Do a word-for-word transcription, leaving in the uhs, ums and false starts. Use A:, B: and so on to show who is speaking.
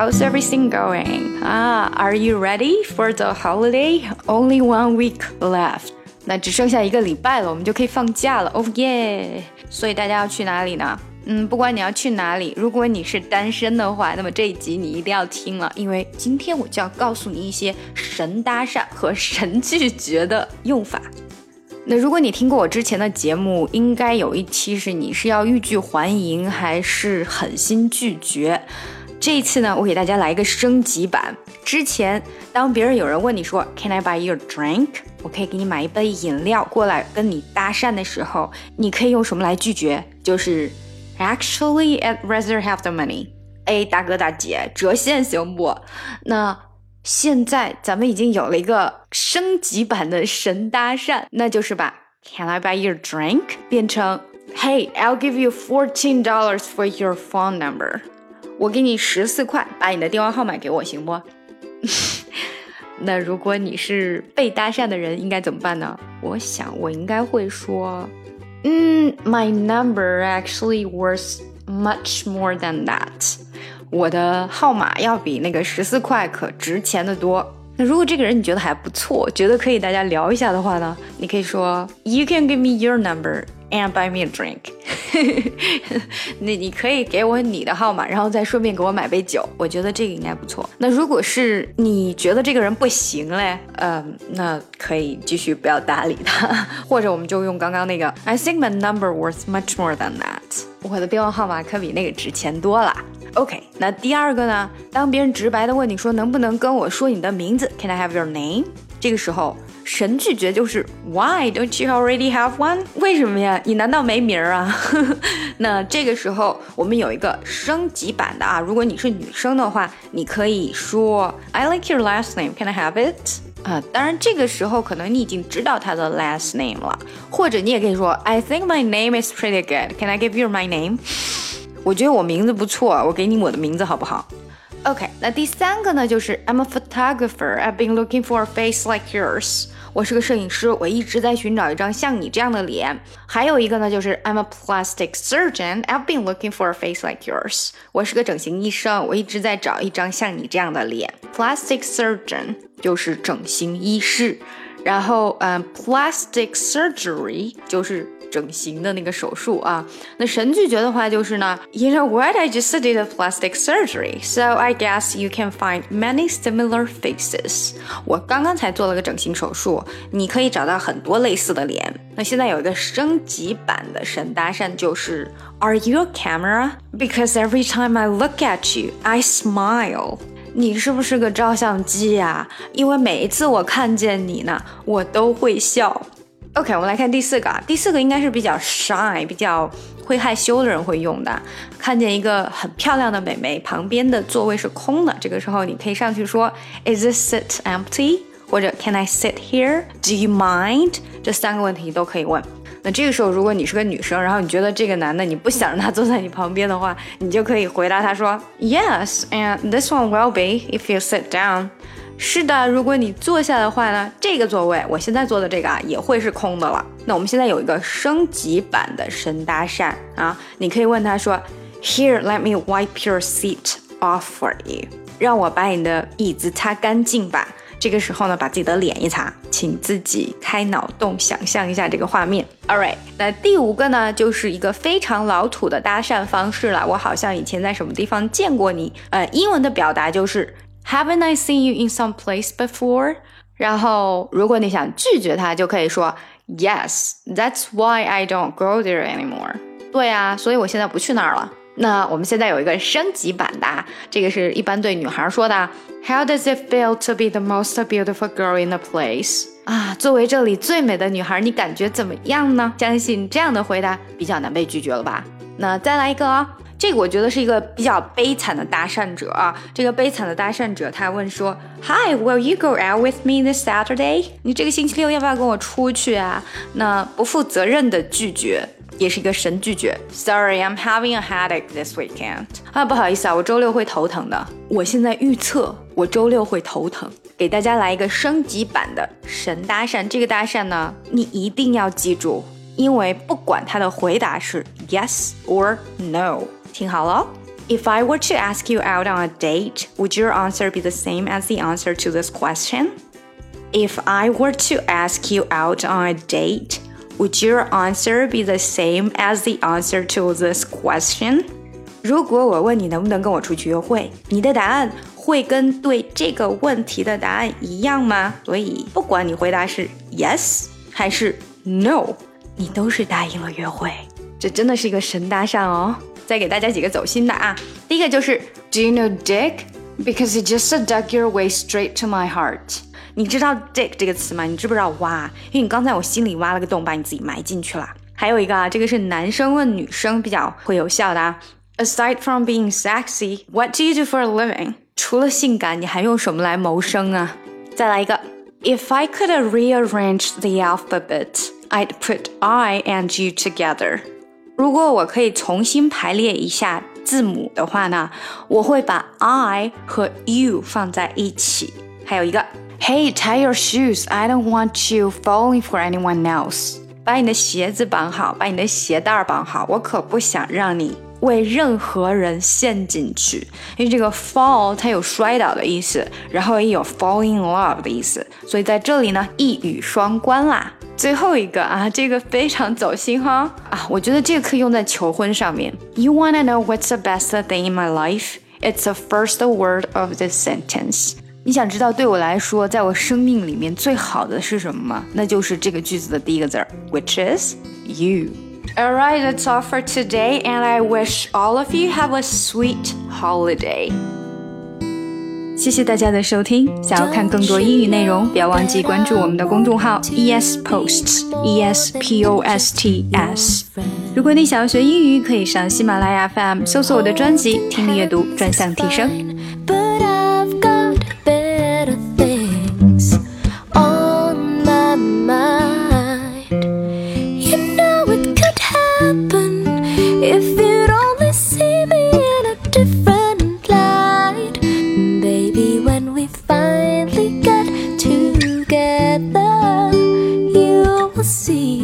A: how's everything going? Ah, are you ready for the holiday? Only one week left. 那只剩下一个礼拜了，我们就可以放假了。Oh yeah! 所以大家要去哪里呢？嗯，不管你要去哪里，如果你是单身的话，那么这一集你一定要听了，因为今天我就要告诉你一些神搭讪和神拒绝的用法。那如果你听过我之前的节目，应该有一期是你是要欲拒还迎还是狠心拒绝。这一次呢，我给大家来一个升级版。之前当别人有人问你说 Can I buy you a drink？ 我可以给你买一杯饮料过来跟你搭讪的时候，你可以用什么来拒绝？就是 Actually, I'd rather have the money。 哎，大哥大姐，折现行不？那现在咱们已经有了一个升级版的神搭讪，那就是把 Can I buy you a drink 变成 Hey, I'll give you fourteen dollars for your phone number。 我给你十四块，把你的电话号码给我行不？那如果你是被搭讪的人应该怎么办呢？我想我应该会说嗯 My number actually worth much more than that。我的号码要比那个十四块可值钱的多。那如果这个人你觉得还不错，觉得可以大家聊一下的话呢，你可以说 You can give me your number and buy me a drink。 那你可以给我你的号码，然后再顺便给我买杯酒，我觉得这个应该不错。那如果是你觉得这个人不行嘞，嗯，那可以继续不要搭理他，或者我们就用刚刚那个 I think my number worth much more than that。 我的电话号码可比那个值钱多了。OK， 那第二个呢，当别人直白的问你说能不能跟我说你的名字 Can I have your name？ 这个时候神拒绝就是 Why don't you already have one？ 为什么呀？你难道没名啊？那这个时候我们有一个升级版的啊，如果你是女生的话，你可以说 I like your last name, can I have it？ 啊，当然这个时候可能你已经知道他的 last name 了，或者你也可以说 I think my name is pretty good, can I give you my name？我觉得我名字不错，我给你我的名字好不好？ OK， 那第三个呢，就是 I'm a photographer, I've been looking for a face like yours。 我是个摄影师，我一直在寻找一张像你这样的脸。还有一个呢，就是 I'm a plastic surgeon, I've been looking for a face like yours。 我是个整形医生，我一直在找一张像你这样的脸。 Plastic surgeon 就是整形医师，然后、um, plastic surgery 就是整形的那个手术啊。那神拒绝的话就是呢 You know what, I just did a plastic surgery, so I guess you can find many similar faces。 我刚刚才做了个整形手术，你可以找到很多类似的脸。那现在有一个升级版的神搭讪，就是 Are you a camera? Because every time I look at you, I smile。 你是不是个照相机呀？因为每一次我看见你呢，我都会笑。OK， 我们来看第四个啊，第四个应该是比较 shy 比较会害羞的人会用的。看见一个很漂亮的美眉，旁边的座位是空的，这个时候你可以上去说 Is this seat empty？ 或者 Can I sit here? Do you mind？ 这三个问题都可以问。那这个时候如果你是个女生，然后你觉得这个男的你不想让他坐在你旁边的话，你就可以回答他说 Yes, and this one will be if you sit down。是的，如果你坐下的话呢，这个座位我现在坐的这个啊也会是空的了。那我们现在有一个升级版的神搭讪啊，你可以问他说 Here, let me wipe your seat off for you。 让我把你的椅子擦干净吧。这个时候呢，把自己的脸一擦，请自己开脑洞想象一下这个画面。 Alright， 那第五个呢，就是一个非常老土的搭讪方式了，我好像以前在什么地方见过你。呃，英文的表达就是Haven't I seen you in some place before？ 然后如果你想拒绝他，就可以说 Yes, that's why I don't go there anymore。 对啊，所以我现在不去那儿了。那我们现在有一个升级版的，这个是一般对女孩说的 How does it feel to be the most beautiful girl in the place？ 啊，作为这里最美的女孩，你感觉怎么样呢？相信这样的回答比较难被拒绝了吧。那再来一个哦，这个我觉得是一个比较悲惨的搭讪者啊。这个悲惨的搭讪者他问说 Hi, will you go out with me this Saturday？ 你这个星期六要不要跟我出去啊？那不负责任的拒绝也是一个神拒绝。 Sorry, I'm having a headache this weekend。 啊，不好意思啊，我周六会头疼的。我现在预测我周六会头疼。给大家来一个升级版的神搭讪，这个搭讪呢，你一定要记住，因为不管他的回答是 yes or no， 听好了 If I were to ask you out on a date, would your answer be the same as the answer to this question? If I were to ask you out on a date, would your answer be the same as the answer to this question? 如果我问你能不能跟我出去约会，你的答案会跟对这个问题的答案一样吗？所以不管你回答是 yes 还是 no， 你都是答应了约会。这真的是一个神搭讪哦。再给大家几个走心的啊，第一个就是 Do you know dick? Because it just dug your way straight to my heart. 你知道 dick 这个词吗？你知不知道挖？因为你刚才我心里挖了个洞，把你自己埋进去了。还有一个啊，这个是男生问女生比较会有效的啊。Aside from being sexy, what do you do for a living? 除了性感，你还用什么来谋生啊？再来一个 If I could rearrange the alphabet, I'd put I and you together. 如果我可以重新排列一下字母的话呢，我会把 I 和 you 放在一起。还有一个 Hey, tie your shoes. I don't want you falling for anyone else. 把你的鞋子绑好，把你的鞋带绑好，我可不想让你为任何人陷进去。因为这个 fall 它有摔倒的意思，然后也有 fall in love 的意思，所以在这里呢一语双关啦。最后一个啊，这个非常走心哈啊，我觉得这个可以用在求婚上面。You wanna know what's the best thing in my life? It's the first word of this sentence. 你想知道对我来说，在我生命里面最好的是什么吗？那就是这个句子的第一个字 which is you.Alright, that's all for today, and I wish all of you have a sweet holiday. 谢谢大家的收听，想要看更多英语内容，不要忘记关注我们的公众号 E S Posts E S P O S T S。如果你想要学英语，可以上喜马拉雅 F M 搜索我的专辑《听力阅读专项提升》。
B: But I've got better things on my mind. You know it could happen if you'd only see me in a different light. Baby, when we finally get together, you will see